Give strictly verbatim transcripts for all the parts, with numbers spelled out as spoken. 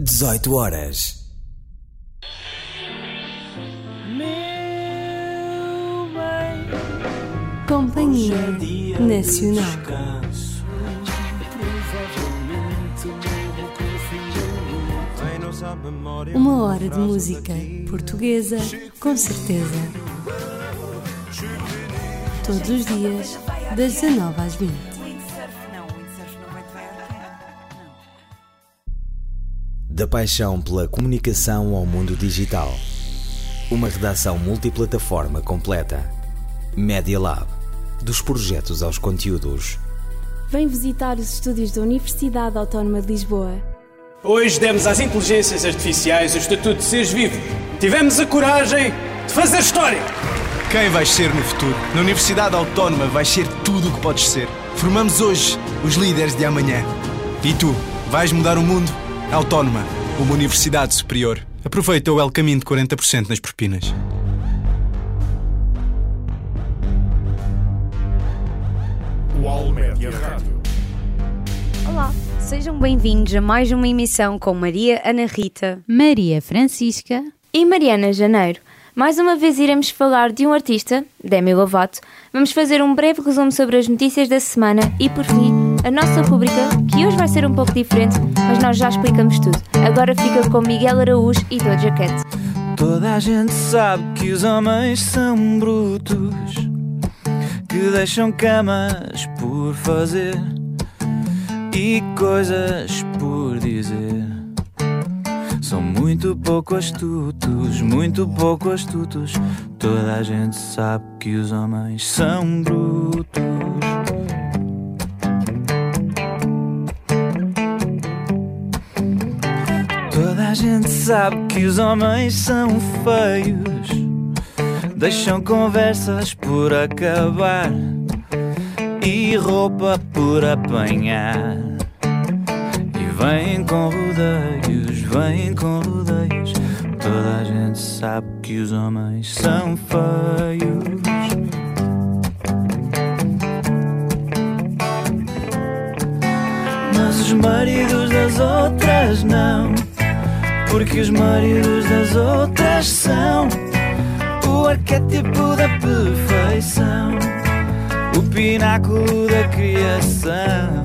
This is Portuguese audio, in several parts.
dezoito horas. Companhia Nacional. Uma hora de música portuguesa, com certeza. Todos os dias, das dezanove às vinte. Da paixão pela comunicação ao mundo digital. Uma redação multiplataforma completa. Media Lab. Dos projetos aos conteúdos. Vem visitar os estúdios da Universidade Autónoma de Lisboa. Hoje demos às inteligências artificiais o estatuto de seres vivos. Tivemos a coragem de fazer história. Quem vais ser no futuro? Na Universidade Autónoma vais ser tudo o que podes ser. Formamos hoje os líderes de amanhã. E tu, vais mudar o mundo? Autónoma, uma universidade superior. Aproveita o El Caminho de quarenta por cento nas propinas. UAL Média Rádio. Olá, sejam bem-vindos a mais uma emissão com Maria Ana Rita, Maria Francisca e Mariana Janeiro. Mais uma vez iremos falar de um artista, Demi Lovato. Vamos fazer um breve resumo sobre as notícias da semana e, por fim, a nossa rubrica, que hoje vai ser um pouco diferente, mas nós já explicamos tudo. Agora fica com Miguel Araújo e Doja Cat. Toda a gente sabe que os homens são brutos, que deixam camas por fazer e coisas por dizer. São muito pouco astutos, muito pouco astutos. Toda a gente sabe que os homens são brutos. Toda a gente sabe que os homens são feios, deixam conversas por acabar e roupa por apanhar. E vêm com rodeios, vêm com rodeios. Toda a gente sabe que os homens são feios. Mas os maridos das outras não, porque os maridos das outras são o arquétipo da perfeição, o pináculo da criação.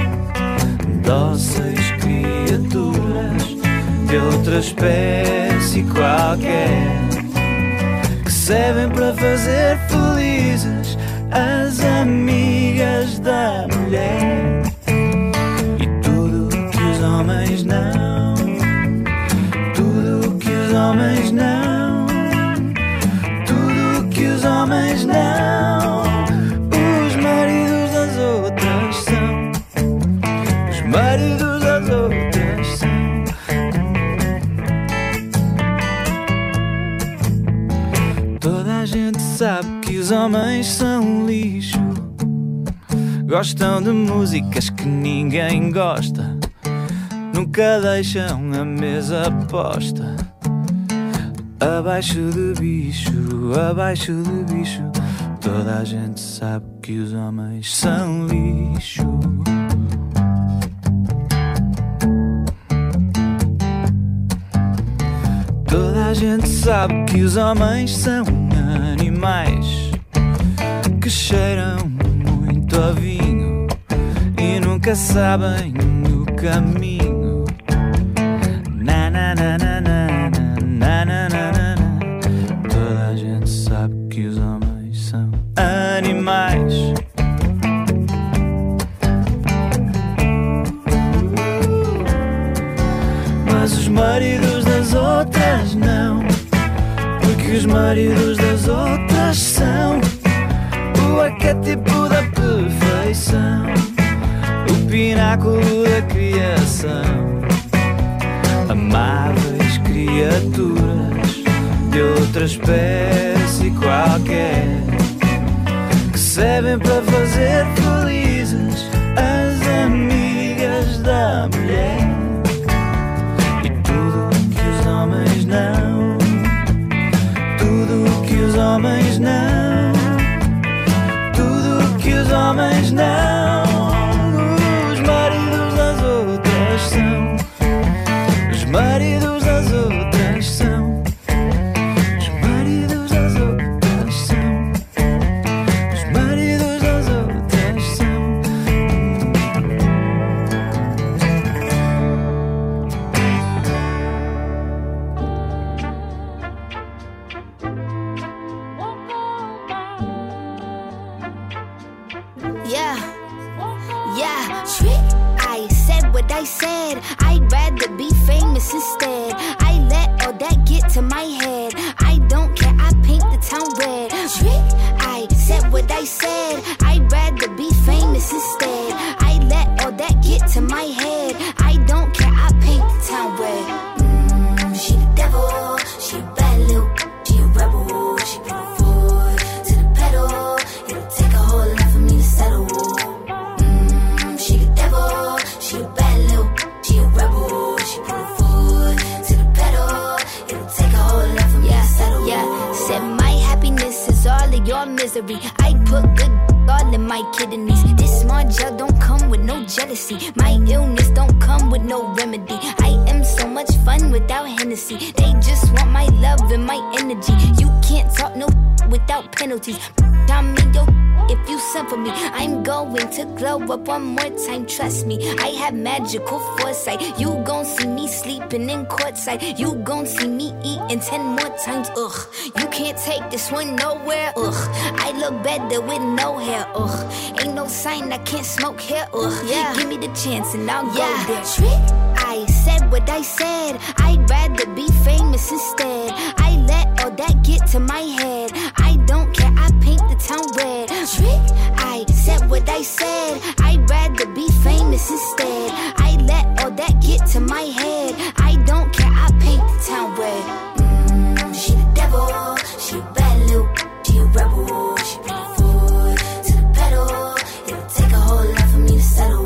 Dóceis criaturas de outra espécie qualquer, que servem para fazer felizes as amigas da mulher. E tudo o que os homens não, tudo o que os homens não, tudo o que os homens não, os maridos das outras são, os maridos das outras são. Toda a gente sabe que os homens são lixo, gostam de músicas que ninguém gosta, nunca deixam a mesa posta. Abaixo de bicho, abaixo de bicho. Toda a gente sabe que os homens são lixo. Toda a gente sabe que os homens são animais que cheiram muito a vinho e nunca sabem o caminho. Na na na na na na na na na. Toda a gente sabe que os homens são animais. Mas os maridos das outras não, porque os maridos das outras são o arquétipo da perfeição, o pináculo da criação. Amáveis criaturas de outra espécie qualquer, que servem para fazer felizes as amigas da mulher. E tudo o que os homens não, tudo o que os homens não, tudo o que os homens não, os maridos das outras são, os maridos I said. I'd rather be famous instead. I let all that get to my head. I don't care, I paint the town red. Trick, I said what I said. I'd rather be famous instead. I let all that get to my head. I don't care, I paint the town red. Mm, she the devil, she a bad little, she a rebel. She put her foot to the pedal. It'll take a whole lot for me to settle. Mm, she the devil, she a bad little, she a rebel. She put her foot to the pedal. It'll take a whole lot for me yeah, to settle. Yeah, said my happiness is all of your misery. I put good all in my kidneys. This small gel don't come with no jealousy. My illness don't come with no remedy. I am so much fun without Hennessy. They just want my love and my energy. You can't talk no without penalties. I'm in your if you send for me. I'm going to glow up one more time, trust me. I have magical foresight. You gon' see me sleeping in courtside. You gon' see me eating ten more times, ugh. You can't take this one nowhere, ugh. I look better with no hair, ugh. Ain't no sign I can't smoke here, ugh. Yeah. Give me the chance and I'll yeah. go there. Trick, I said what I said. I'd rather be famous instead. I let all that get to my head. I don't care, I paint the town red. Trick, I said what I said. I'd rather be famous instead. I let all that get to my head. I don't care, I paint the town red. Mm, she the devil, she a bad little, she a rebel. She put her foot to the pedal. It'll take a whole lot for me to settle.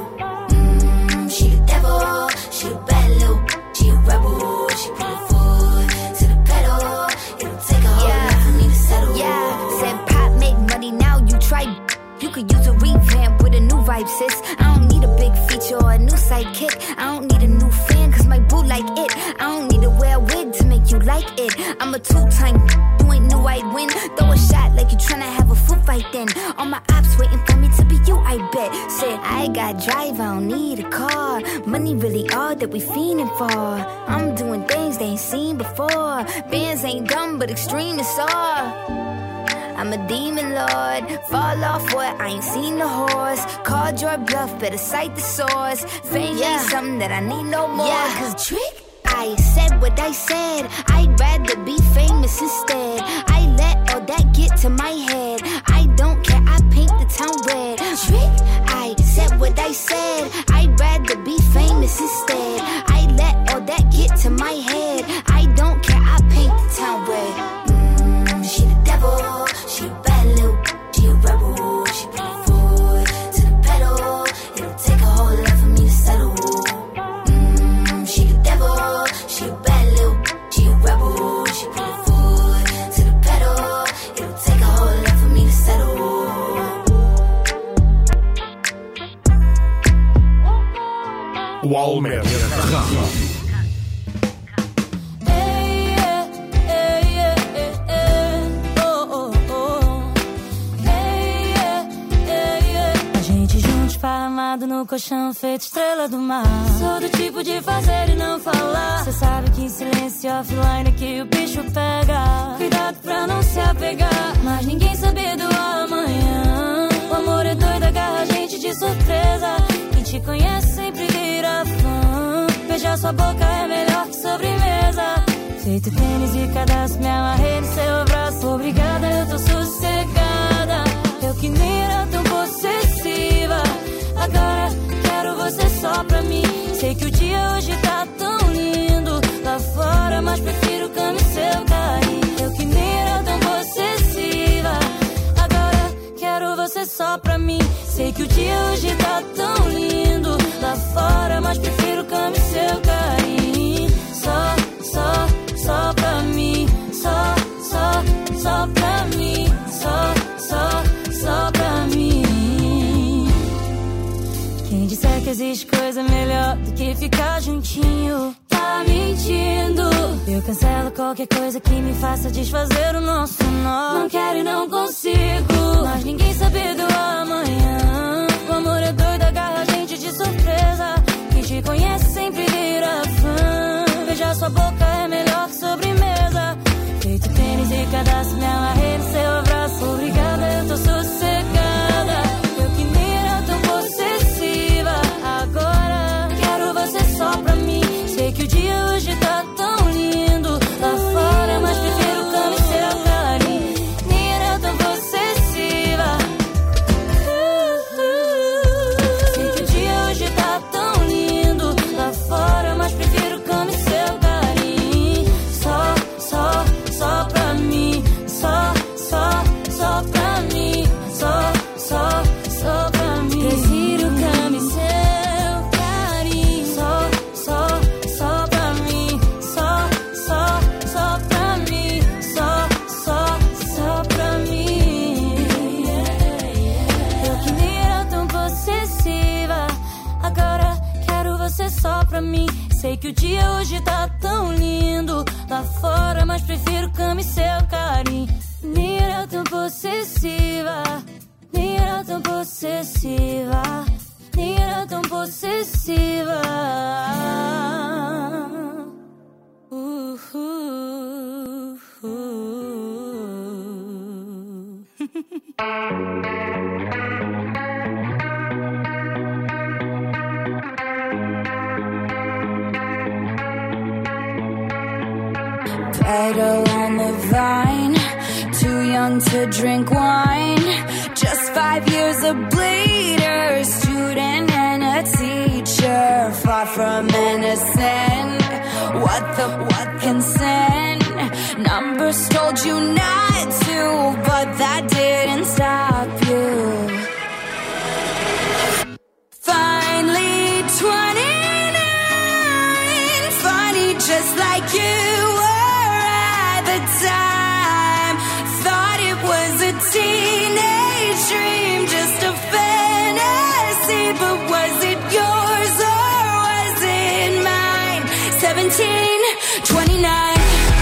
Mm, she the devil, she a bad little, she a rebel. She put her foot to the pedal. It'll take a whole yeah. lot for me to settle. Yeah, said pop make money now. You try. You could use a revamp with a new vibe, sis. I don't need a big feature or a new sidekick. I don't need a new fan, cause my boo like it. I don't need to wear a wig to make you like it. I'm a two-time, you ain't knew I'd win. Throw a shot like you tryna have a foot fight then. All my ops waiting for me to be you, I bet. Said, I got drive, I don't need a car. Money really all that we fiending for. I'm doing things they ain't seen before. Bands ain't dumb, but extreme is all. I'm a demon lord, fall off what, I ain't seen the horse. Called your bluff, better cite the source. Fame yeah. ain't something that I need no more. Yeah. Cause trick, I said what I said. I'd rather be famous instead. I let all that get to my head. I don't care, I paint the town red. Trick, I said what I said. I'd rather be famous instead. I let all that get to my head. I don't care, I paint the town red. Mm, she the devil. She a bad little, she a rebel. She put her foot to the pedal. It'll take a whole lot for me to settle. Mm, she the devil, she a bad little, she a rebel. She put her foot to the pedal. It'll take a whole lot for me to settle. Walmer Rádio. Amado no colchão, feito estrela do mar. Sou do tipo de fazer e não falar. Cê sabe que em silêncio offline é que o bicho pega. Cuidado pra não se apegar, mas ninguém sabe do amanhã. O amor é doido, agarra a gente de surpresa. Quem te conhece sempre vira fã. Beijar sua boca é melhor que sobremesa. Feito tênis e cadastro, me amarrei no seu braço. Obrigada, eu tô sossegada. Eu que nem era tão possessiva. Agora quero você só pra mim. Sei que o dia hoje tá tão lindo lá fora, mas prefiro cama e seu carinho. Eu que nem era tão possessiva. Agora quero você só pra mim. Sei que o dia hoje tá tão lindo lá fora, mas prefiro cama e seu carinho. Só, só, só pra mim. Só, só, só pra mim. Só, só, só pra mim. Quem disser que existe coisa melhor do que ficar juntinho tá mentindo. Eu cancelo qualquer coisa que me faça desfazer o nosso nó. Não quero e não consigo, mas ninguém sabe do amanhã. O amor é doido, agarra a gente de surpresa. Quem te conhece sempre vira fã. Beijar sua boca é melhor que sobremesa. Feito tênis e cadastro, me amarrei no seu abraço. Obrigada, eu tô sossegada. Eu que nem era tão possessiva. Agora você só pra mim. Sei que o dia hoje tá tão lindo lá fora, mas prefiro cama e seu carinho. Nem era tão possessiva, nem era tão possessiva, nem era tão possessiva. Uh, uh, uh. Petal on the vine, too young to drink wine. Just five years a bleeder, student and a teacher, far from innocent. What the what consent? Numbers told you not to, but that didn't stop you. Finally twenty-nine, funny just like you were at the time. Thought it was a teenage dream, just a fantasy, but was it yours or was it mine? Seventeen, twenty-nine.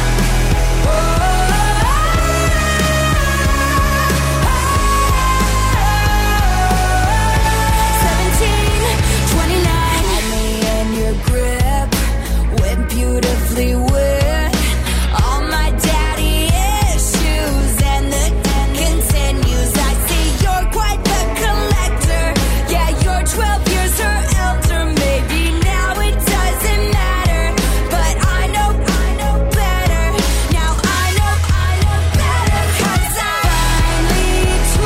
Beautifully wet, all my daddy issues, and the continues. I see you're quite the collector. Yeah, you're twelve years her elder. Maybe now it doesn't matter, but I know, I know better. Now I know, I know better, 'cause I'm finally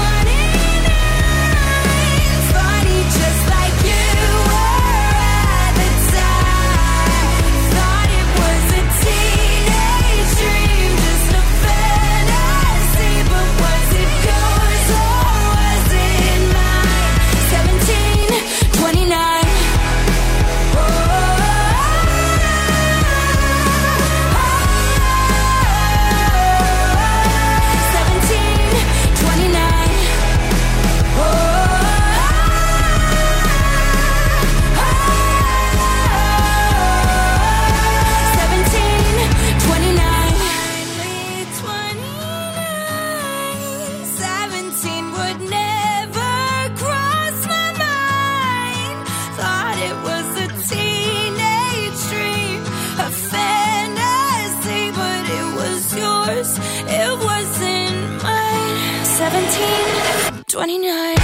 twenty-nine. Funny just like you were at the time. Thought it was a teenage dream, just a fantasy, but was it yours or was it mine? Seventeen, twenty-nine. Oh, seventeen, twenty-nine. Oh, seventeen, twenty-nine. Seventeen would never cross my mind. Thought it was a teenage dream, a fantasy, but it was yours, it wasn't mine. Seventeen, twenty-nine.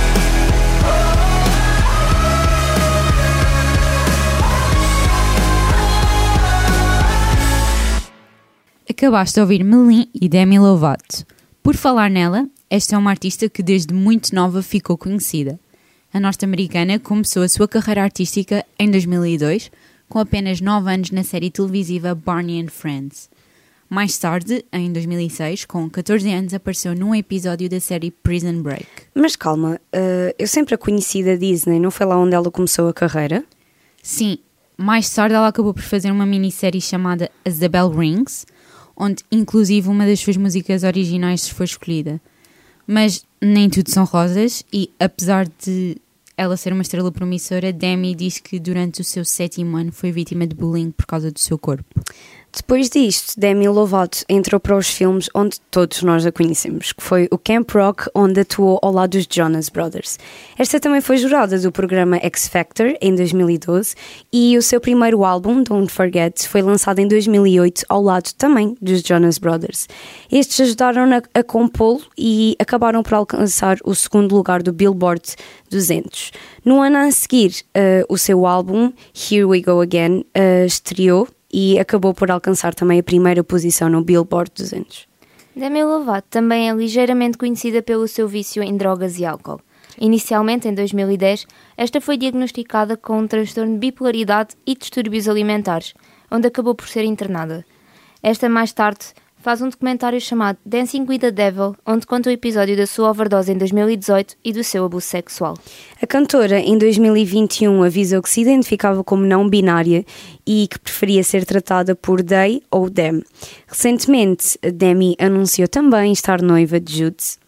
Acabaste de ouvir Melim e Demi Lovato. Por falar nela, esta é uma artista que desde muito nova ficou conhecida. A norte-americana começou a sua carreira artística em dois mil e dois, com apenas nove anos na série televisiva Barney and Friends. Mais tarde, em dois mil e seis, com catorze anos, apareceu num episódio da série Prison Break. Mas calma, uh, eu sempre a conheci da Disney, não foi lá onde ela começou a carreira? Sim, mais tarde ela acabou por fazer uma minissérie chamada As the Bell Rings, onde inclusive uma das suas músicas originais foi escolhida. Mas nem tudo são rosas e, apesar de ela ser uma estrela promissora, Demi diz que durante o seu sétimo ano foi vítima de bullying por causa do seu corpo. Depois disto, Demi Lovato entrou para os filmes onde todos nós a conhecemos, que foi o Camp Rock, onde atuou ao lado dos Jonas Brothers. Esta também foi jurada do programa X Factor em dois mil e doze e o seu primeiro álbum, Don't Forget, foi lançado em dois mil e oito ao lado também dos Jonas Brothers. Estes ajudaram-na a compô-lo e acabaram por alcançar o segundo lugar do Billboard duzentos. No ano a seguir, uh, o seu álbum, Here We Go Again, uh, estreou e acabou por alcançar também a primeira posição no Billboard duzentos. Demi Lovato também é ligeiramente conhecida pelo seu vício em drogas e álcool. Inicialmente, em dois mil e dez, esta foi diagnosticada com um transtorno de bipolaridade e distúrbios alimentares, onde acabou por ser internada. Esta, mais tarde, faz um documentário chamado Dancing with the Devil, onde conta o episódio da sua overdose em dois mil e dezoito e do seu abuso sexual. A cantora, em dois mil e vinte e um, avisou que se identificava como não binária e que preferia ser tratada por they ou them. Recentemente, Demi anunciou também estar noiva de Jude,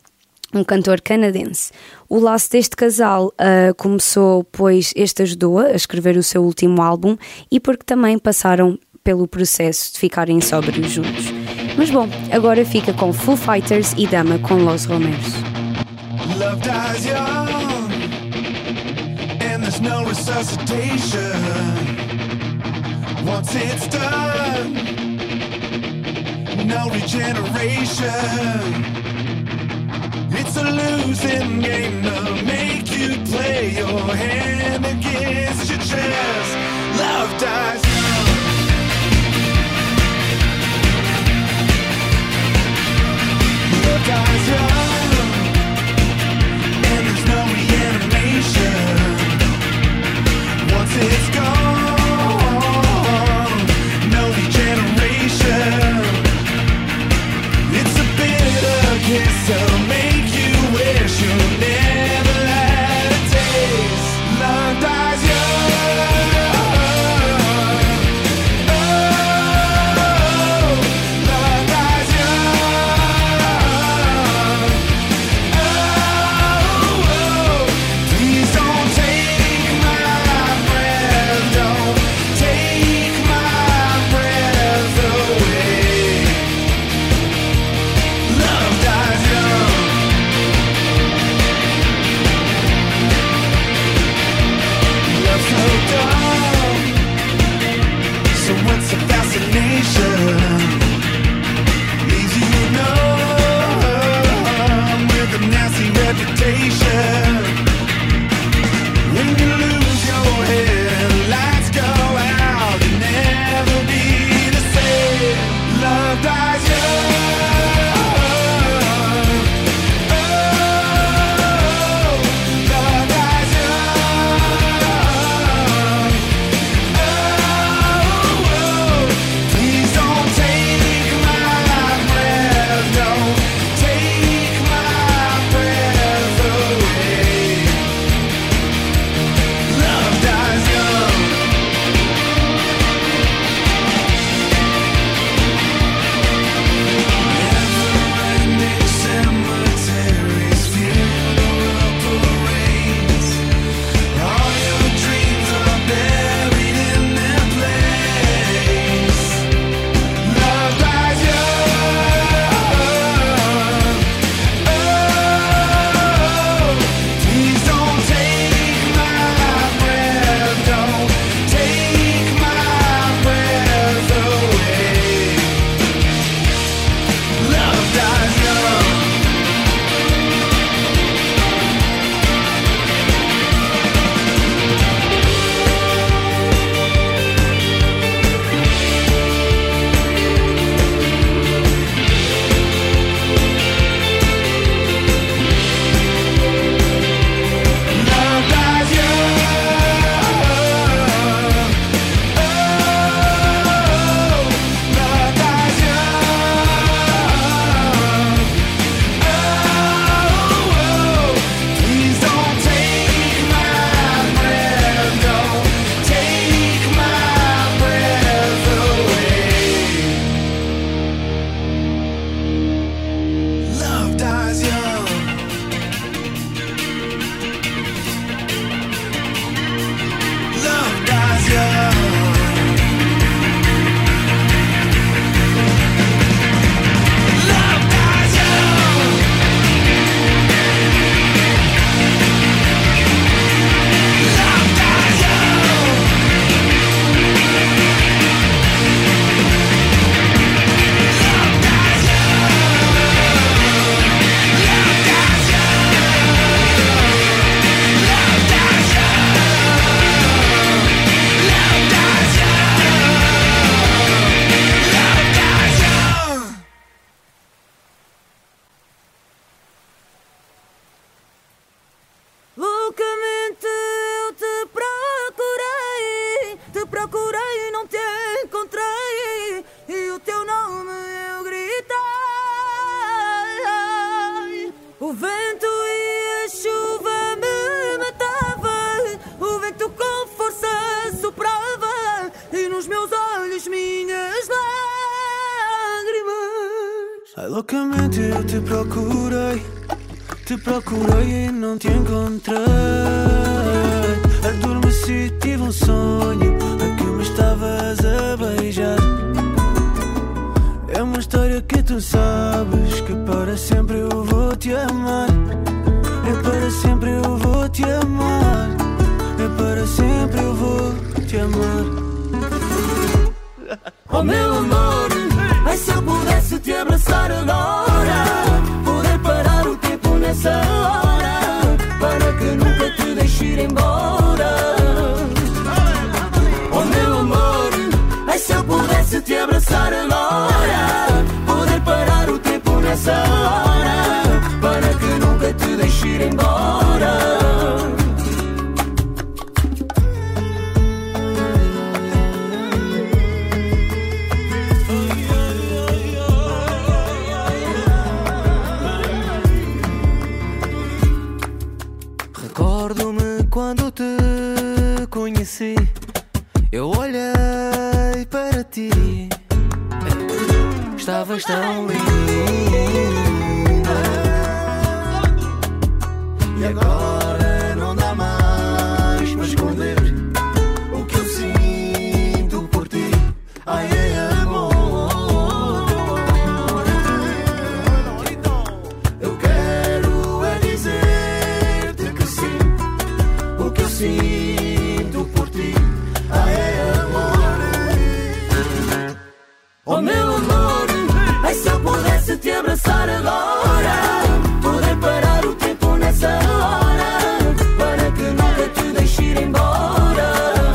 um cantor canadense. O laço deste casal uh, começou pois este ajudou-a a escrever o seu último álbum e porque também passaram pelo processo de ficarem sóbrios juntos. Mas bom, agora fica com Foo Fighters e Dama com Los Romeros. Love dies young and there's no resuscitation. Once it's done, no regeneration. It's a losing game to make you play your hand against your chest. Love dies young. Love dies young, and there's no reanimation. Once it's gone, no regeneration. It's a bitter kiss to make you wish you never had a taste. Love dies young. Oh, love dies young. Oh, please don't take my breath, don't take my breath away. Love dies young. Love's so dumb. So what's the fascination? Leaves you numb with a nasty reputation. When you lose your head and lights go out, you'll never be the same. Love dies young. Oh, love dies young. Oh, please don't take my breath, don't take my breath away. Love dies young. Never-ending cemeteries, funeral parades. All your dreams are buried in their place. Love dies young. Oh, please don't take my breath, don't take my breath away. Love dies young. Love dies young. Oh, love dies young. Oh, please don't take my breath, don't take my breath away. Love dies young. Love dies young. Love dies young. Love dies young. Love dies young. Love dies young. Love dies Loucamente eu te procurei, te procurei e não te encontrei, e o teu nome eu gritei. O vento e a chuva me matavam, o vento com força soprava, e nos meus olhos minhas lágrimas. Ai, loucamente eu te procurei, Te procurei e não te encontrei. Adormeci, tive um sonho a que me estavas a beijar. É uma história que tu sabes, que para sempre eu vou te amar. É para sempre eu vou te amar. É para sempre eu vou te amar. Oh meu amor, ai se eu pudesse te abraçar agora, poder parar o tempo nessa hora, para que nunca te deixe ir embora. Oh meu amor, ai se eu pudesse te abraçar agora, poder parar o tempo nessa hora, para que nunca te deixe ir embora. Recordo-me quando te conheci, eu olhei para ti, estavas tão linda. E agora não dá mais para esconder o que eu sinto por ti. Ai, é amor. Eu quero é dizer-te que sim, o que eu sinto por ti. Ai, é amor. Oh meu amor, ai se eu pudesse te abraçar agora, poder parar o tempo nessa hora, para que nunca te deixe ir embora.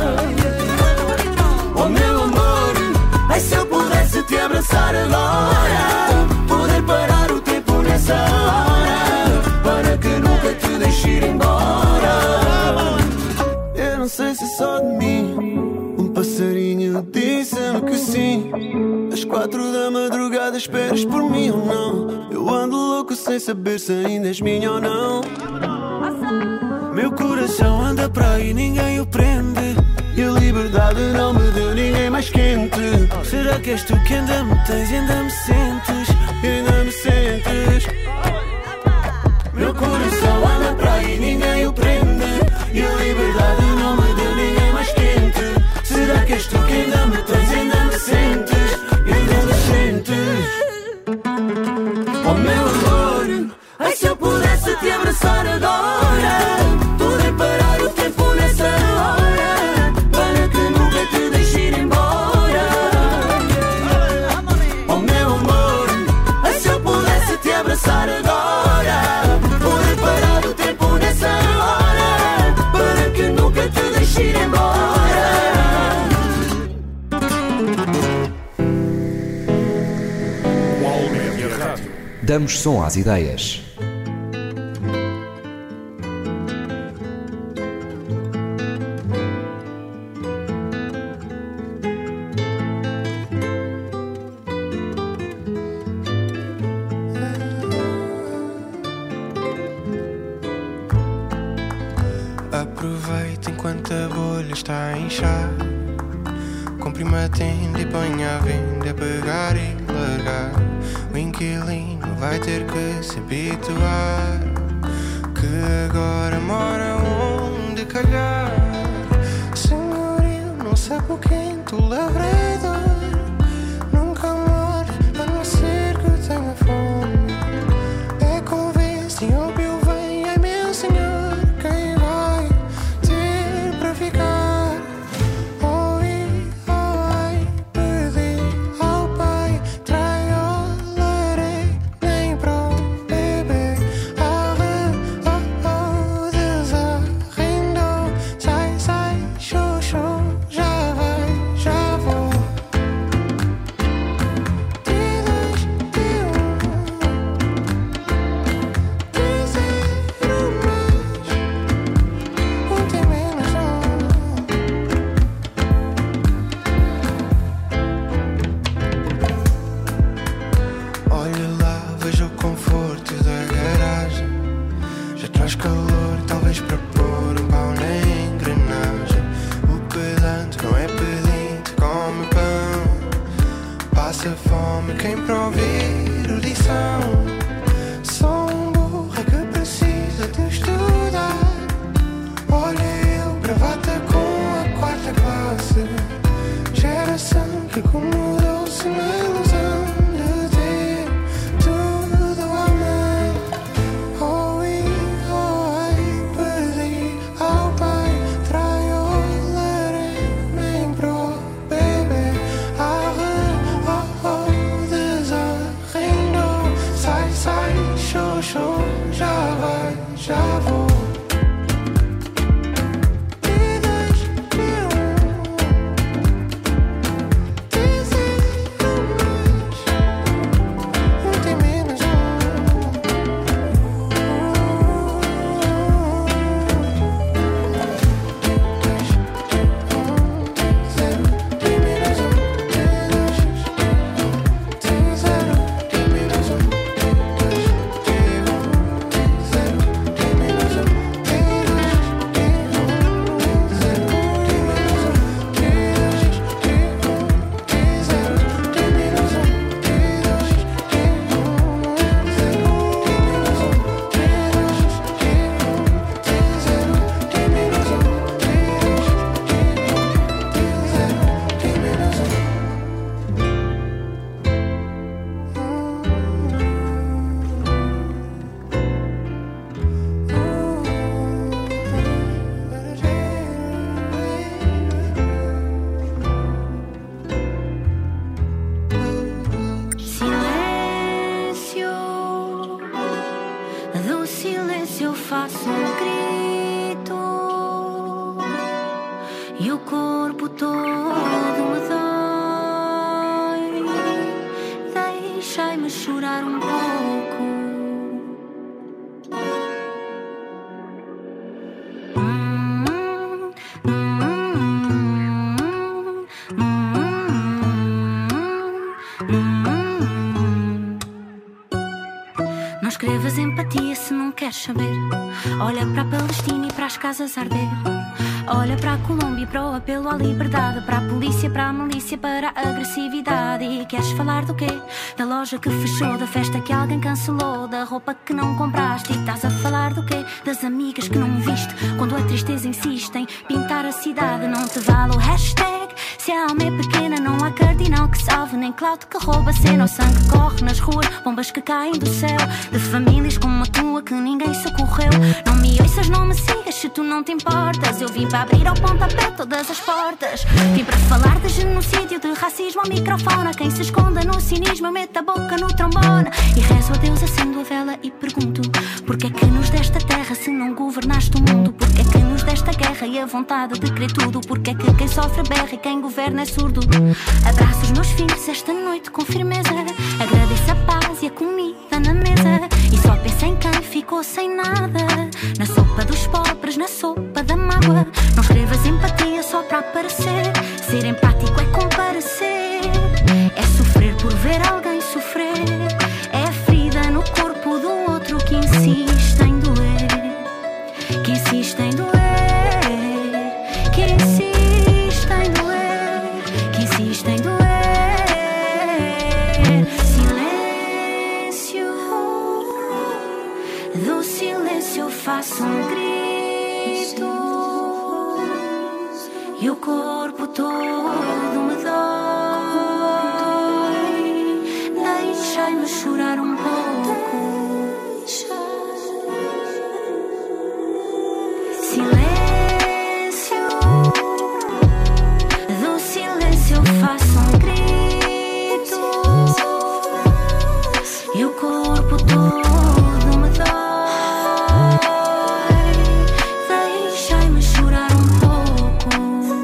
Oh meu amor, ai se eu pudesse te abraçar agora, poder parar o tempo nessa hora, para que nunca te deixe ir embora. Eu não sei se só de mim um passarinho disse-me que sim. Às quatro da madrugada esperas por mim ou não? Eu ando louco sem saber se ainda és minha ou não. Meu coração anda para aí, ninguém o prende, e a liberdade não me deu ninguém mais quente. Será que és tu que ainda me tens e ainda me sentes? E ainda me sentes? Meu coração anda para aí, ninguém o prende, e a liberdade não me deu ninguém mais quente. Será que és tu que ainda me tens e ainda me sentes? Oh meu amor, ai se eu pudesse te abraçar agora, poder parar o tempo nessa hora, para que nunca te deixe ir embora. Oh meu amor, ai se eu pudesse te abraçar agora, poder parar o tempo nessa hora, para que nunca te deixe ir embora. Damos som às ideias. Aproveita enquanto a bolha está a inchar. Comprime a tenda e ponha a venda, pegar e largar. O inquilino vai ter que se habituar, que agora mora onde calhar. Senhorio, não sabe o quente, o lavrador nunca mora, a não ser que tenha fome. É convence, óbvio vem, ai meu senhor, quem vai ter para ficar? Quem para ouvir lição, sou um burro que precisa doce. Geração que acomodou-se na ilusão de ter tudo à mão. Oh, e, oh, ai, pedi ao pai, traiu, nem pro bebê. Arre, oh, oh, desarreinou. Sai, sai, show, show, já vai, já vou. Não escrevas empatia se não queres saber. Olha para a Palestina e para as casas a arder. Olha para a Colômbia e para o apelo à liberdade. Para a polícia, para a milícia, para a agressividade. E queres falar do quê? Da loja que fechou, da festa que alguém cancelou, da roupa que não compraste. E estás a falar do quê? Das amigas que não viste, quando a tristeza insiste em pintar a cidade. Não te vale o hashtag. Se a alma é pequena não há cardinal que salve, nem clout que rouba a cena. O sangue corre nas ruas, bombas que caem do céu, de famílias como a tua que ninguém socorreu. Não me ouças, não me sigas se tu não te importas. Eu vim para abrir ao pontapé todas as portas. Vim para falar de genocídio, de racismo ao microfone. A quem se esconda no cinismo eu meto a boca no trombone. E rezo a Deus, acendo a vela e pergunto: porque é que nos desta terra se não governaste o mundo? Porque é que nos desta guerra e a vontade de querer tudo? Porque é que quem sofre berra e quem governa é surdo? Abraço os meus filhos esta noite com firmeza. Agradeço a paz e a comida na mesa. E só penso em quem ficou sem nada, na sopa dos pobres, na sopa da mágoa. Não escrevas empatia só para aparecer. Ser empático é comparecer. É sofrer por ver alguém sofrer. É a ferida no corpo do outro que insiste em doer. Que insiste em doer. Que insiste em doer. Que insiste em doer. Silêncio. Do silêncio eu faço um grito. E o corpo todo me dói. Deixai-me chorar um pouco. Silêncio. Do silêncio eu faço um grito. E o corpo todo me dói. Deixai-me chorar um pouco.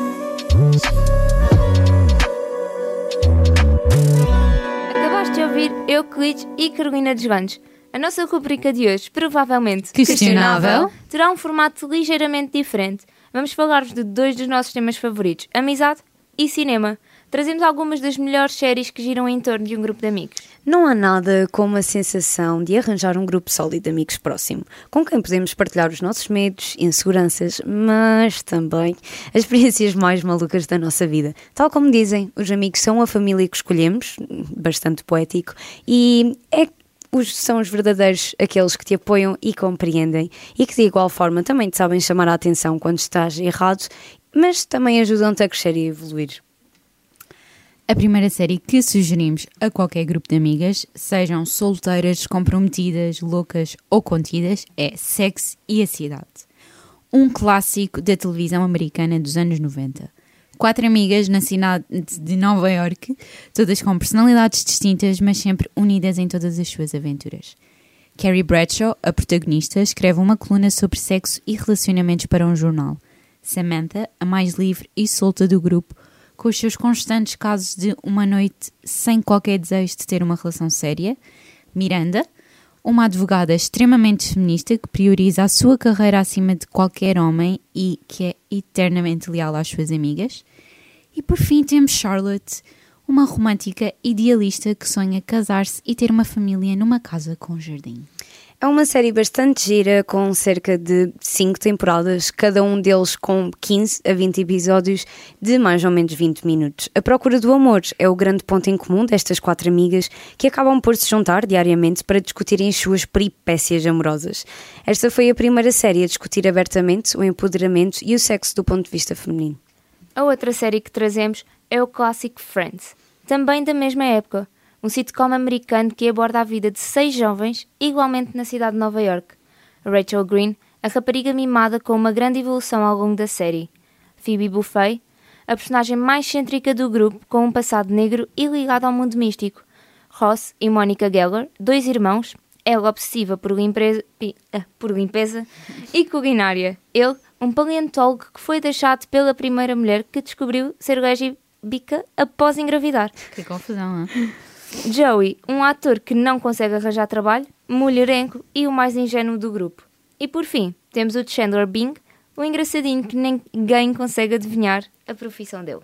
Acabaste de ouvir Euclides e Carolina Desvantes. A nossa rubrica de hoje, provavelmente questionável, terá um formato ligeiramente diferente. Vamos falar-vos de dois dos nossos temas favoritos, amizade e cinema. Trazemos algumas das melhores séries que giram em torno de um grupo de amigos. Não há nada como a sensação de arranjar um grupo sólido de amigos próximo, com quem podemos partilhar os nossos medos, inseguranças, mas também as experiências mais malucas da nossa vida. Tal como dizem, os amigos são a família que escolhemos, bastante poético, e é Os, são os verdadeiros, aqueles que te apoiam e compreendem e que de igual forma também te sabem chamar a atenção quando estás errado mas também ajudam-te a crescer e evoluir. A primeira série que sugerimos a qualquer grupo de amigas, sejam solteiras, descomprometidas, loucas ou contidas, é Sex e a Cidade. Um clássico da televisão americana dos anos noventa. Quatro amigas na cidade de Nova Iorque, todas com personalidades distintas, mas sempre unidas em todas as suas aventuras. Carrie Bradshaw, a protagonista, escreve uma coluna sobre sexo e relacionamentos para um jornal. Samantha, a mais livre e solta do grupo, com os seus constantes casos de uma noite sem qualquer desejo de ter uma relação séria. Miranda, uma advogada extremamente feminista que prioriza a sua carreira acima de qualquer homem e que é eternamente leal às suas amigas. E por fim temos Charlotte, uma romântica idealista que sonha casar-se e ter uma família numa casa com jardim. É uma série bastante gira, com cerca de cinco temporadas, cada um deles com quinze a vinte episódios de mais ou menos vinte minutos. A procura do amor é o grande ponto em comum destas quatro amigas que acabam por se juntar diariamente para discutirem as suas peripécias amorosas. Esta foi a primeira série a discutir abertamente o empoderamento e o sexo do ponto de vista feminino. A outra série que trazemos é o clássico Friends, também da mesma época. Um sitcom americano que aborda a vida de seis jovens, igualmente na cidade de Nova Iorque. Rachel Green, a rapariga mimada com uma grande evolução ao longo da série. Phoebe Buffay, a personagem mais cêntrica do grupo, com um passado negro e ligado ao mundo místico. Ross e Monica Geller, dois irmãos, ela obsessiva por limpeza, por limpeza e culinária. Ele, um paleontólogo que foi deixado pela primeira mulher que descobriu ser lésbica após engravidar. Que confusão, não é? Joey, um ator que não consegue arranjar trabalho, mulherengo e o mais ingênuo do grupo. E por fim, temos o Chandler Bing, o engraçadinho que ninguém consegue adivinhar a profissão dele.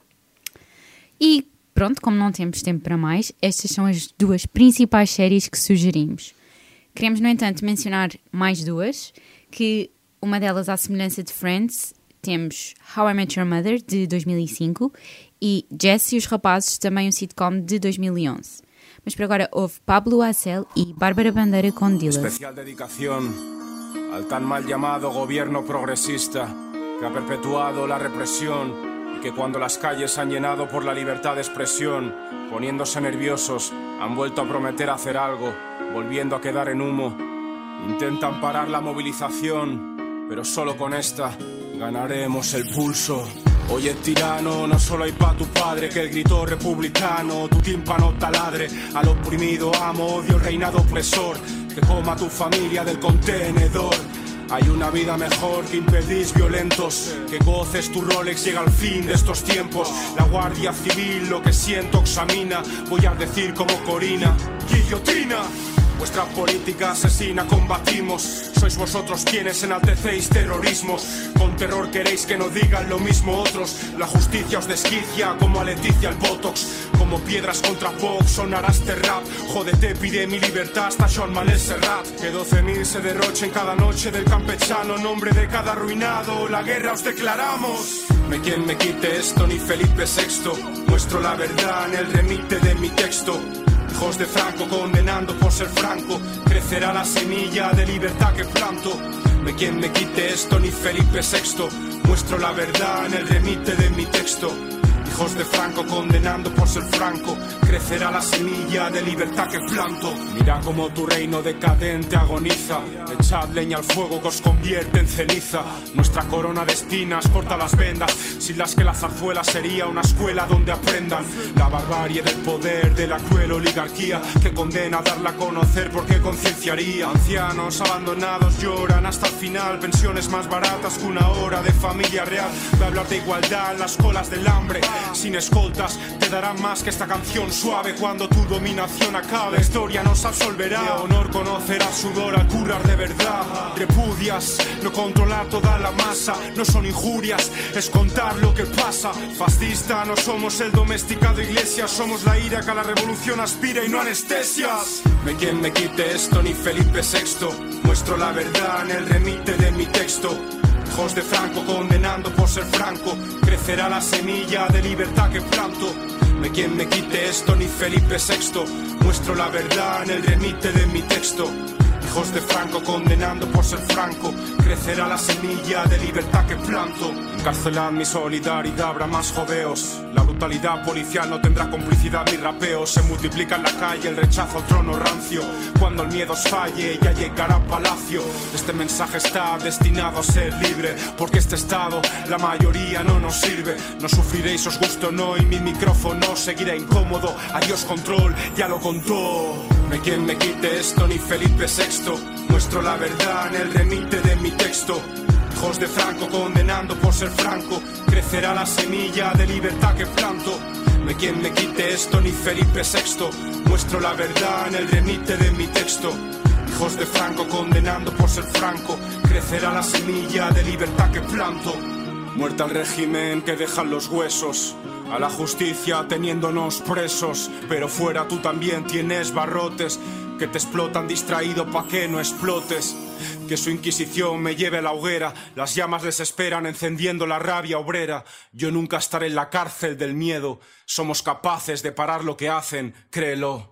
E pronto, como não temos tempo para mais, estas são as duas principais séries que sugerimos. Queremos, no entanto, mencionar mais duas, que uma delas, à semelhança de Friends, temos How I Met Your Mother, de dois mil e cinco, e Jess e os Rapazes, também um sitcom de dois mil e onze. Mas por agora houve Pablo Hasél e Bárbara Bandeira com Dillas. Especial dedicación al tan mal llamado gobierno progresista que ha perpetuado la represión y que cuando las calles han llenado por la libertad de expresión, poniéndose nerviosos, han vuelto a prometer hacer algo, volviendo a quedar en humo. Intentan parar la movilización, pero solo con esta ganaremos el pulso. Oye, tirano, no solo hay pa' tu padre que el grito republicano, tu tímpano taladre, al oprimido amo, odio el reinado opresor, que coma tu familia del contenedor. Hay una vida mejor que impedís violentos, que goces tu Rolex, llega al fin de estos tiempos. La Guardia Civil lo que siento examina, voy a decir como Corina, guillotina. Vuestra política asesina combatimos. Sois vosotros quienes enaltecéis terrorismos. Con terror queréis que no digan lo mismo otros. La justicia os desquicia como a Leticia el Botox. Como piedras contra Vox sonará este rap. Jódete, pide mi libertad hasta Joan Manuel Serrat. Que doce mil se derrochen cada noche del campechano. Nombre de cada arruinado, la guerra os declaramos. Me quien me quite esto, ni Felipe sexto. Muestro la verdad en el remite de mi texto. Hijos de Franco condenando por ser franco, crecerá la semilla de libertad que planto. Me quien me quite esto, ni Felipe sexto. Muestro la verdad en el remite de mi texto. Hijos de Franco condenando por ser franco, crecerá la semilla de libertad que planto. Mira como tu reino decadente agoniza. Echad leña al fuego que os convierte en ceniza. Nuestra corona de espinas corta las vendas, sin las que la zarzuela sería una escuela donde aprendan la barbarie del poder de la cruel oligarquía que condena a darla a conocer porque concienciaría. Ancianos abandonados lloran hasta el final, pensiones más baratas que una hora de familia real. Voy a hablar de igualdad en las colas del hambre. Sin escoltas te darán más que esta canción suave. Cuando tu dominación acabe, la historia nos absolverá. De honor conocerá sudor al currar de verdad. Repudias no controlar toda la masa. No son injurias, es contar lo que pasa. Fascista, no somos el domesticado iglesia. Somos la ira que a la revolución aspira y no anestesias. Me quien me quite esto, ni Felipe sexto. Muestro la verdad en el remite de mi texto. Hijos de Franco condenando por ser franco, crecerá la semilla de libertad que planto. Me quien me quite esto, ni Felipe sexto. Muestro la verdad en el remite de mi texto. Hijos de Franco condenando por ser franco, crecerá la semilla de libertad que planto. Encarcelad mi solidaridad, habrá más jodeos. La brutalidad policial no tendrá complicidad ni rapeo. Se multiplica en la calle el rechazo al trono rancio. Cuando el miedo os falle ya llegará palacio. Este mensaje está destinado a ser libre, porque este estado la mayoría no nos sirve. No sufriréis, os guste o no, y mi micrófono seguirá incómodo. Adiós control, ya lo contó. No hay quien me quite esto, ni Felipe sexto. Muestro la verdad en el remite de mi texto. Hijos de Franco condenando por ser franco. Crecerá la semilla de libertad que planto. No hay quien me quite esto, ni Felipe sexto. Muestro la verdad en el remite de mi texto. Hijos de Franco condenando por ser franco. Crecerá la semilla de libertad que planto. Muerta al régimen que dejan los huesos. A la justicia teniéndonos presos. Pero fuera tú también tienes barrotes que te explotan distraído pa' que no explotes. Que su inquisición me lleve a la hoguera. Las llamas les esperan encendiendo la rabia obrera. Yo nunca estaré en la cárcel del miedo. Somos capaces de parar lo que hacen, créelo.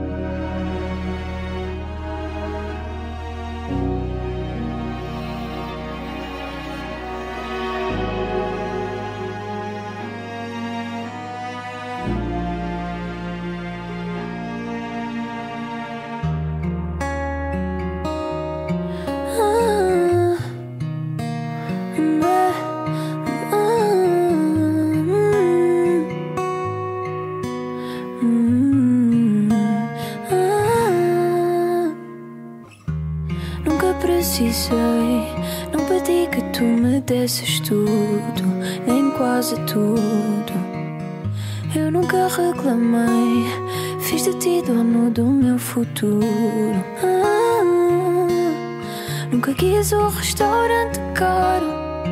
Precisei, não pedi que tu me desses tudo, nem quase tudo. Eu nunca reclamei, fiz de ti dono do meu futuro. Ah, nunca quis um restaurante caro,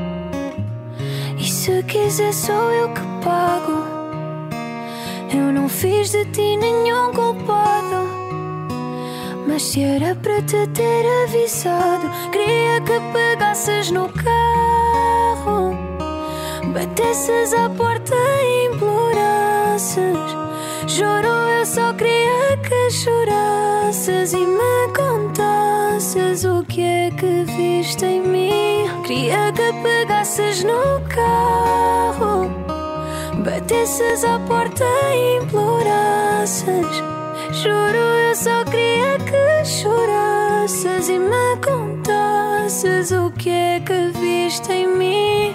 e se quiser sou eu que pago. Eu não fiz de ti nenhum culpado, mas se era para te ter avisado, queria que pegasses no carro, batesses à porta e implorasses. Juro, eu só queria que chorasses e me contasses o que é que viste em mim. Queria que pegasses no carro, batesses à porta e implorasses. Juro, eu só queria que chorasses e me contasses o que é que viste em mim.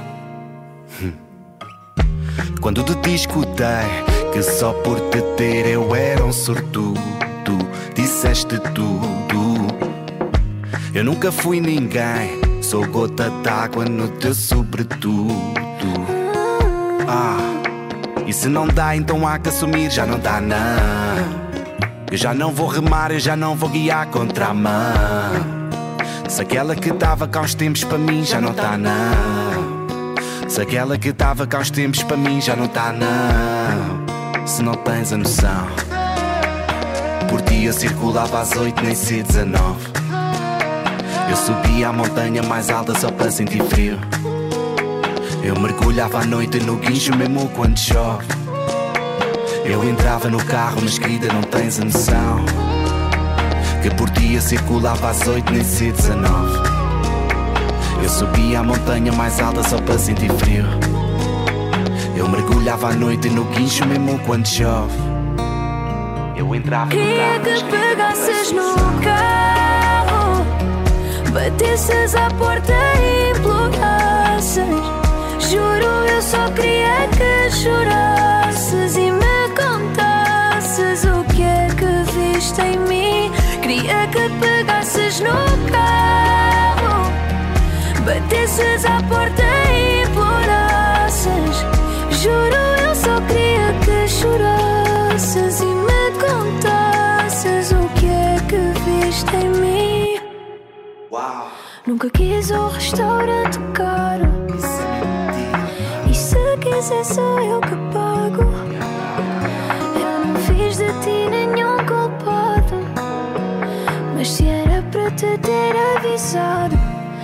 Quando de ti escutei que só por te ter eu era um sortudo, disseste tudo. Eu nunca fui ninguém, sou gota d'água no teu sobretudo. Ah, e se não dá então há que assumir, já não dá não. Eu já não vou remar, eu já não vou guiar contra a mão. Se aquela que estava cá uns tempos para mim já não tá não. Se aquela que estava cá uns tempos para mim já não tá não. Se não tens a noção, por ti eu circulava às oito nem sei dezanove. Eu subia a montanha mais alta só para sentir frio. Eu mergulhava à noite no guincho mesmo quando chove. Eu entrava no carro, mas querida não tens a noção, que por dia circulava às oito nem sei dezanove. Eu subia a montanha mais alta só para sentir frio. Eu mergulhava à noite no guincho mesmo quando chove. Eu entrava no queria carro, que pegasses no carro, batesses à porta e implorasses. Juro, eu só queria que chorasses e me contasses o que é que viste em mim. Queria que pegasses no carro, batesses à porta e implorasses. Juro, eu só queria que chorasses e me contasses o que é que viste em mim. Uau. Nunca quis um restaurante caro, e se quiser sou eu que pago. Eu não fiz de ti nenhum culpado, mas se era para te ter avisado.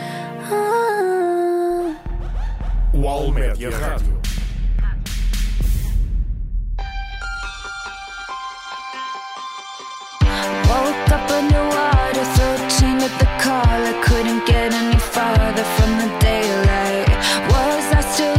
Ah. O Almédia Rádio. Woke up underwater, thirteen at the call. I couldn't get any farther from the daylight. Was I still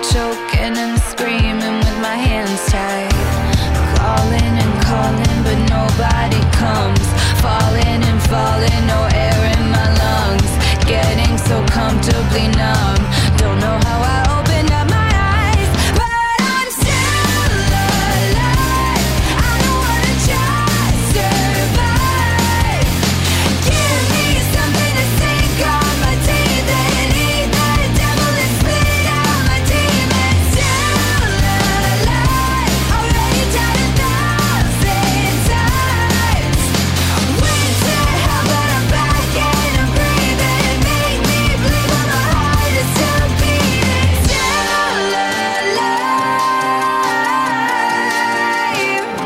choking and screaming with my hands tied. Calling and calling, but nobody comes. Falling and falling, no air in my lungs. Getting so comfortably numb. Don't know how I opened up my eyes, but I'm still alive. I don't wanna just survive. Give me something to sink on my teeth and eat the devil and spit out my demons. Still alive, already died a thousand times. Went to hell, but I'm back and I'm breathing. Make me believe all my heart is still beating. Still alive.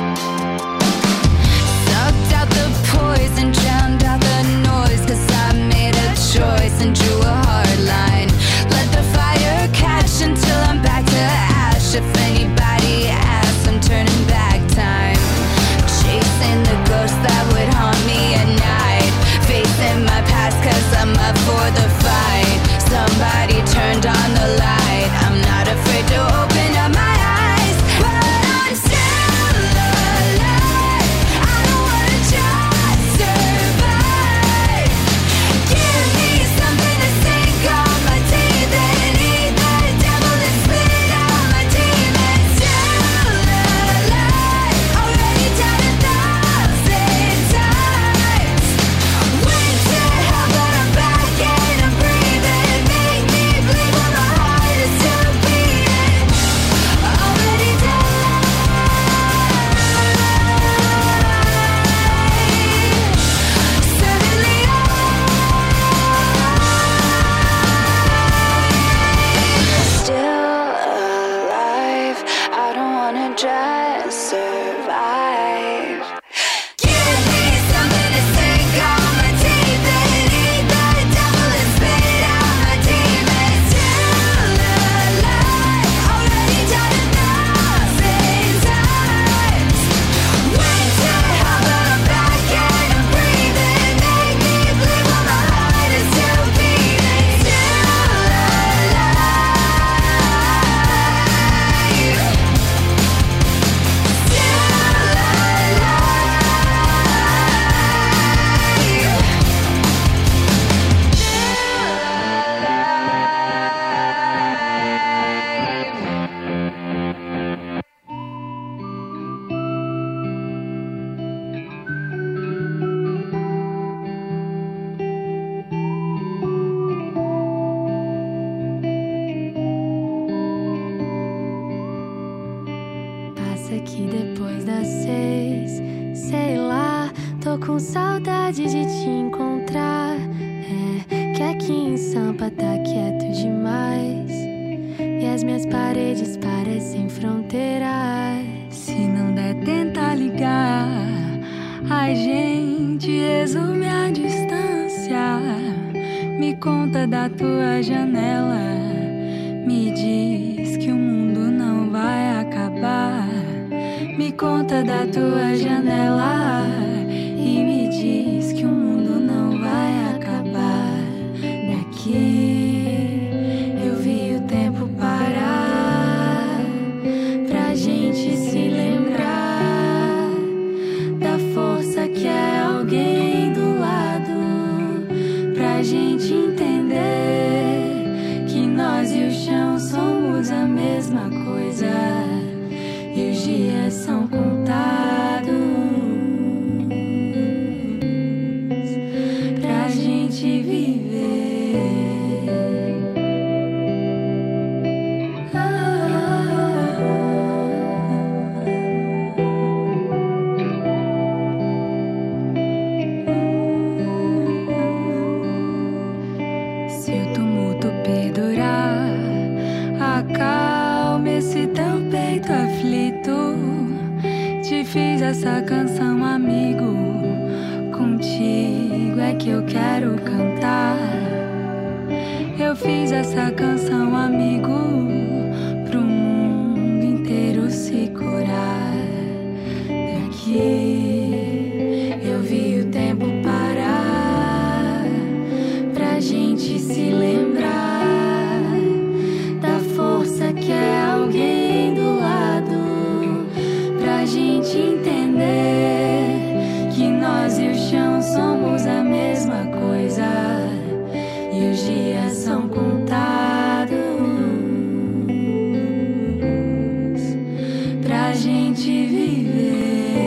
Sucked out the poison, drowned out the noise. Cause I made a choice and drew a hard line. Let the fire catch until I'm back to ash. If anybody asks, I'm turning back time. Chasing the ghost that would haunt me at night. Facing my past cause I'm up for the fight. Somebody turned on the light. I'm not afraid to open up my eyes, but I'm still alive. I don't wanna just survive. Give me something to sink on my teeth and eat the devil and spit out my demons. Still alive, already died a thousand times. Went to hell, but I'm back and I'm breathing. Make me believe all my heart is still beating. Already died. Suddenly still alive. I don't wanna just survive. Give me something to sink on my teeth and eat the devil and spit out my demons. Still alive, already died a thousand times. Went to hell, but I'm back and I'm breathing. Make me believe all my heart is still beating. Still Passa aqui depois das seis, sei lá, tô com saudade de te encontrar. É que aqui em Sampa tá quieto demais e as minhas paredes parecem fronteiras. Se não der, tenta ligar. A gente resume a distância. Me conta da tua janela. Me diz que o mundo não vai acabar. Me conta da tua janela e me diz que o mundo não vai acabar. Daqui eu vi o tempo parar pra gente se lembrar da força que é alguém do lado, pra gente entender que nós e o chão somos a mesma coisa. E os dias são contados pra gente viver. Se o tumulto perdurar, acalme esse teu peito aflito. Te fiz essa canção, amigo. Contigo é que eu quero cantar. Eu fiz essa canção, amigo, pro mundo inteiro se curar. Daqui eu vi o tempo parar pra gente se lembrar da força gente entender que nós e o chão somos a mesma coisa e os dias são contados pra gente viver.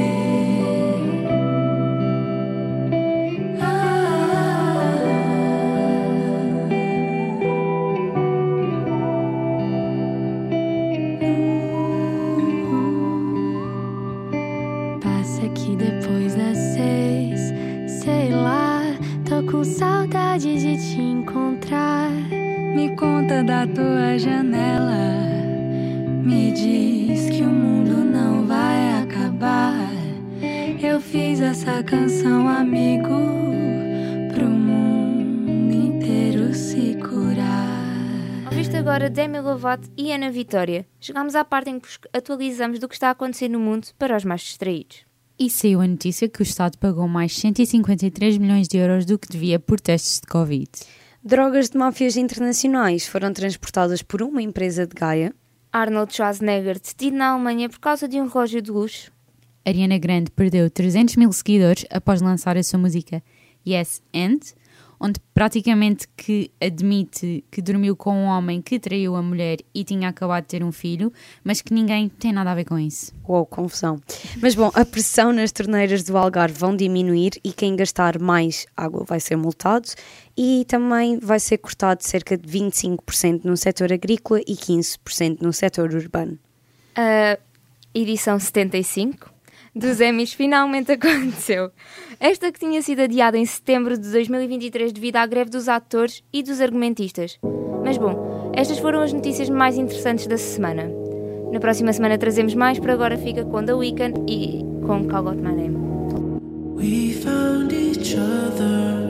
Que depois das seis, sei lá, tô com saudade de te encontrar. Me conta da tua janela, me diz que o mundo não vai acabar. Eu fiz essa canção, amigo, pro mundo inteiro se curar. Ouviste agora Demi Lovato e Ana Vitória. Chegámos à parte em que atualizamos do que está a acontecer no mundo para os mais distraídos. E saiu a notícia que o Estado pagou mais cento e cinquenta e três milhões de euros do que devia por testes de Covid. Drogas de máfias internacionais foram transportadas por uma empresa de Gaia. Arnold Schwarzenegger detido na Alemanha por causa de um relógio de luxo. Ariana Grande perdeu trezentos mil seguidores após lançar a sua música Yes and, onde praticamente que admite que dormiu com um homem que traiu a mulher e tinha acabado de ter um filho, mas que ninguém tem nada a ver com isso. Uou, confusão. Mas bom, a pressão nas torneiras do Algarve vão diminuir e quem gastar mais água vai ser multado e também vai ser cortado cerca de vinte e cinco por cento no setor agrícola e quinze por cento no setor urbano. A edição setenta e cinco dos Emmys finalmente aconteceu. Esta que tinha sido adiada em setembro de dois mil e vinte e três devido à greve dos atores e dos argumentistas. Mas bom, estas foram as notícias mais interessantes da semana. Na próxima semana trazemos mais, por agora fica com The Weeknd e com Call Out My Name. We found each other.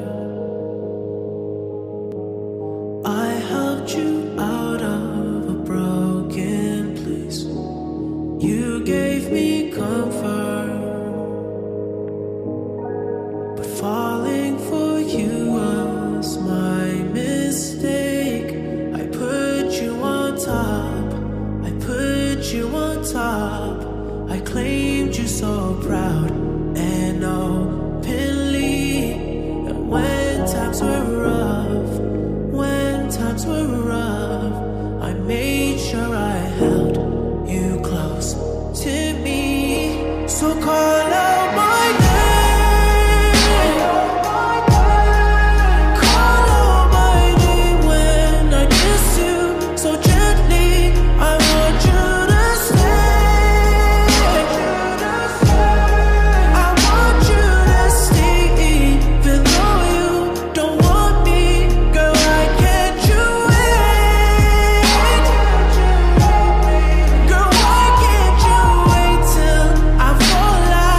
I helped you out of a broken place. You gave me comfort. Falling for you was my mistake. I put you on top. I put you on top. I claimed you so proud and openly. And when times were rough, when times were rough, I made sure I held you close to me. So call out my name. Fall out.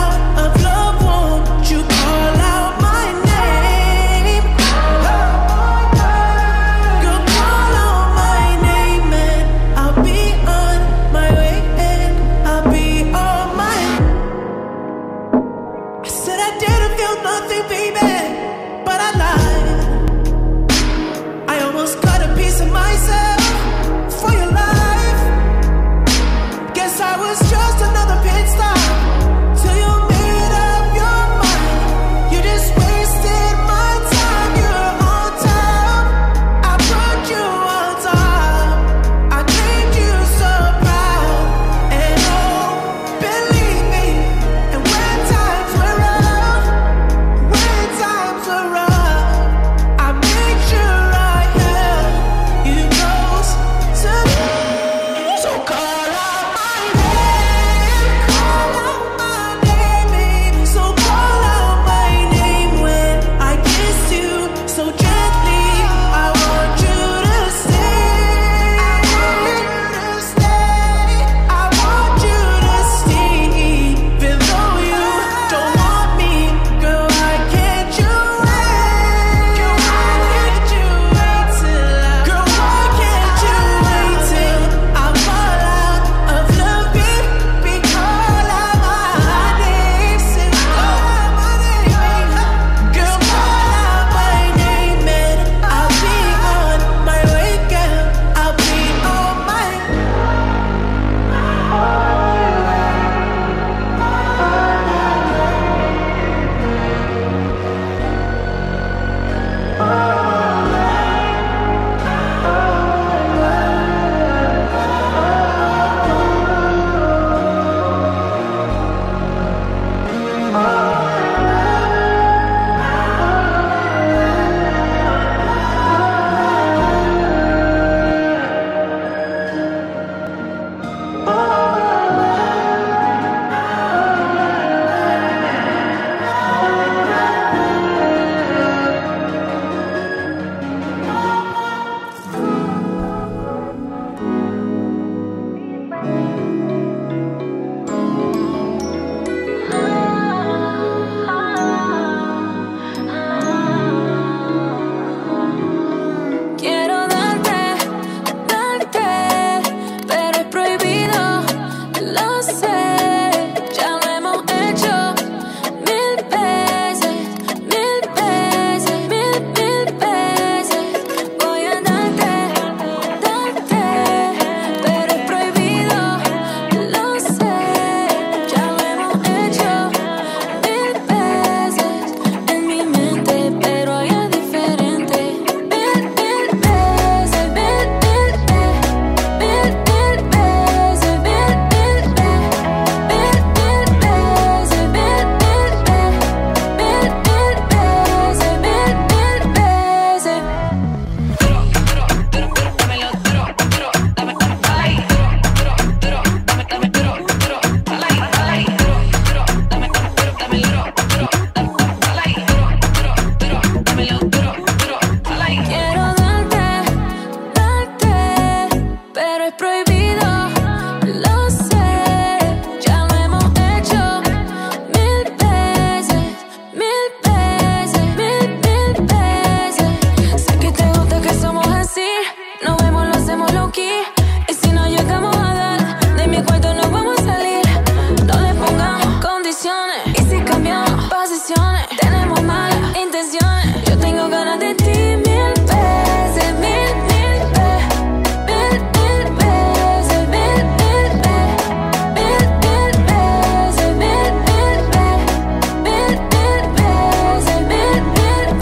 prohibido. Lo sé, ya lo hemos hecho mil veces, mil veces, mil, mil veces. Sé que te gusta que somos así, nos vemos, lo hacemos low key. Y si no llegamos a dar, de mi cuarto no vamos a salir. No le pongamos condiciones. Y si cambiamos posiciones, tenemos malas intenciones. Yo tengo ganas de ti mil veces, mil, mil veces, mil, mil veces, mil, mil veces, mil, mil veces, mil, mil veces, mil, mil veces, mil, mil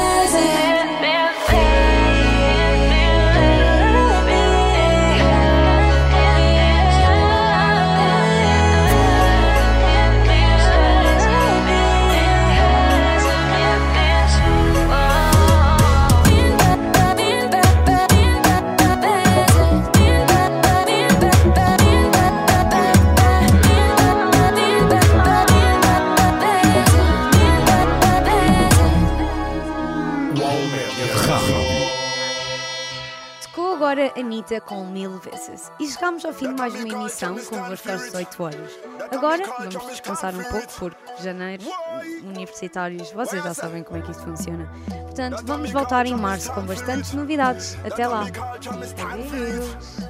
Tocou agora a Anitta com Mil Vezes. E chegámos ao fim de mais uma emissão com convosco às dezoito horas. Agora vamos descansar um pouco porque janeiro, universitários, vocês já sabem como é que isto funciona. Portanto, vamos voltar em março com bastantes novidades. Até lá. Adeus.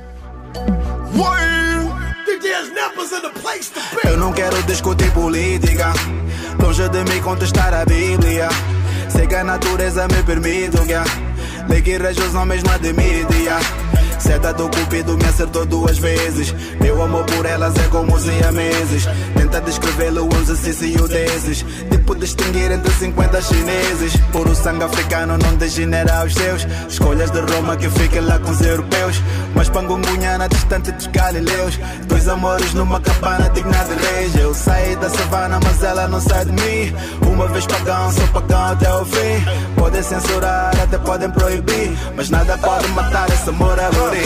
Eu não quero discutir política, longe de mim contestar a Bíblia. Sei que a natureza me permite, yeah. Lei que rege os homens não admite, yeah. Seta do cupido me acertou duas vezes. Meu amor por elas é como siameses. Tenta descrevê-lo um exercício desses. Tipo distinguir entre cinquenta chineses. Puro sangue africano não degenera os seus. Escolhas de Roma que fiquem lá com os europeus. Mas pangungunhana distante dos galileus. Dois amores numa cabana digna de reis. Eu saí da savana mas ela não sai de mim. Uma vez pagão, sou pagão até o fim. Podem censurar, até podem proibir, mas nada pode matar esse amor aboriginal.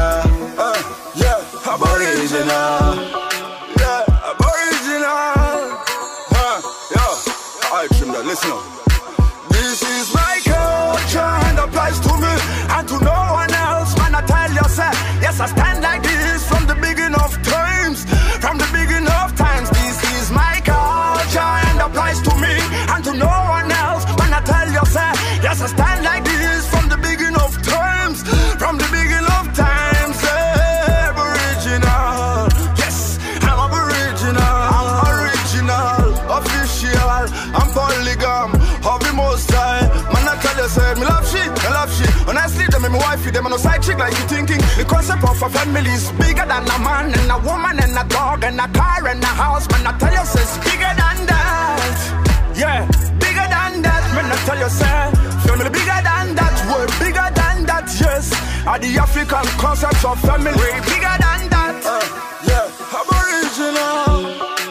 Uh, yeah, aboriginal. Yeah, aboriginal. Uh, yeah, I trim that, listen up. This is my culture and applies to me and to no one else. Man, I tell you, sir, yes, I stand like this from the beginning of times. From the beginning of times, this is my culture and applies to me and to no one else. Man, I tell you, sir, yes, I stand like this from the beginning of times. From the beginning of times, eh, aboriginal. Yes, I'm aboriginal. I'm original, official. I'm polygam, of the most high. Man, I tell you, sir, me love shit, I love shit. Honestly, them and my wife, them are no side chick like you thinking. The concept of a family is bigger than a man and a woman and a dog and a car and a house. Man, I tell you, sir, it's bigger than that. Yeah, bigger than that. Man, I tell you, sir, family bigger than that. We're bigger than that, yes. Are the African concept of family way bigger than that. Uh, yeah, aboriginal.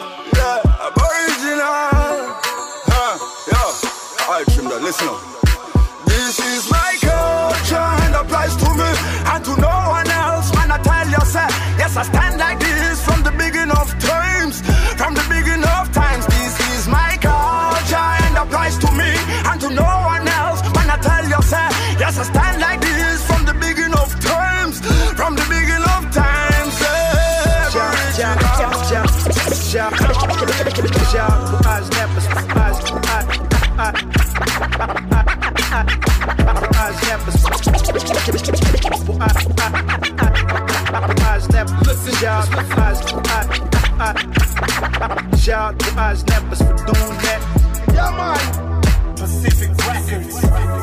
Yeah, aboriginal. Huh, yeah, I trim that, listen up. This is my culture and applies to me and to no one else. Man, I tell you, sir, yes, I stand like this from the beginning of times. From the beginning of times, this is my culture and applies to me and to no one else. Man, I tell you, sir, yes, I stand like this from the beginning of times. From the beginning of times, eh, shout to us neppers for doing that. Yeah, man. Pacific Records.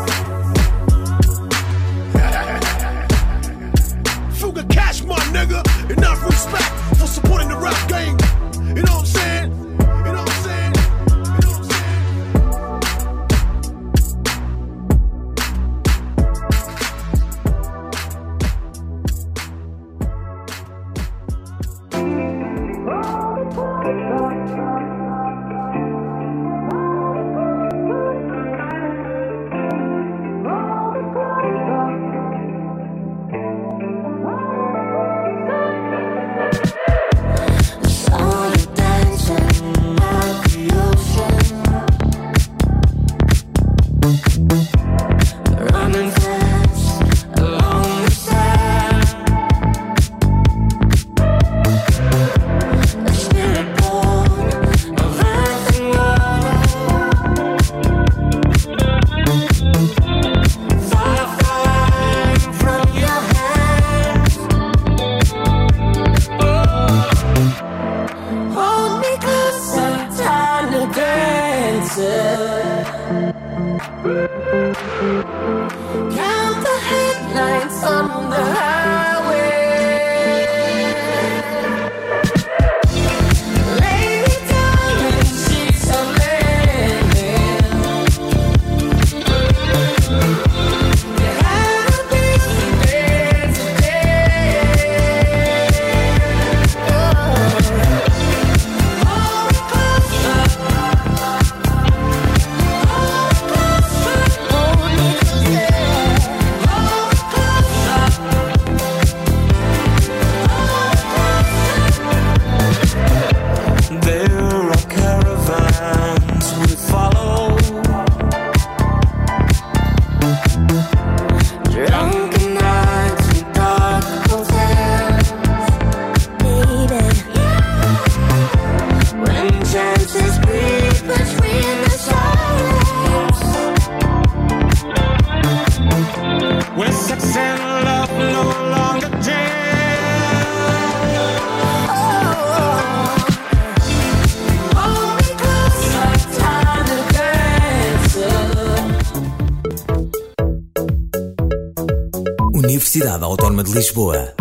Fuga cash, my nigga. Enough respect for supporting the rap game. You know what I'm saying? You know what I'm saying? You know what I'm saying? Universidade Autónoma de Lisboa.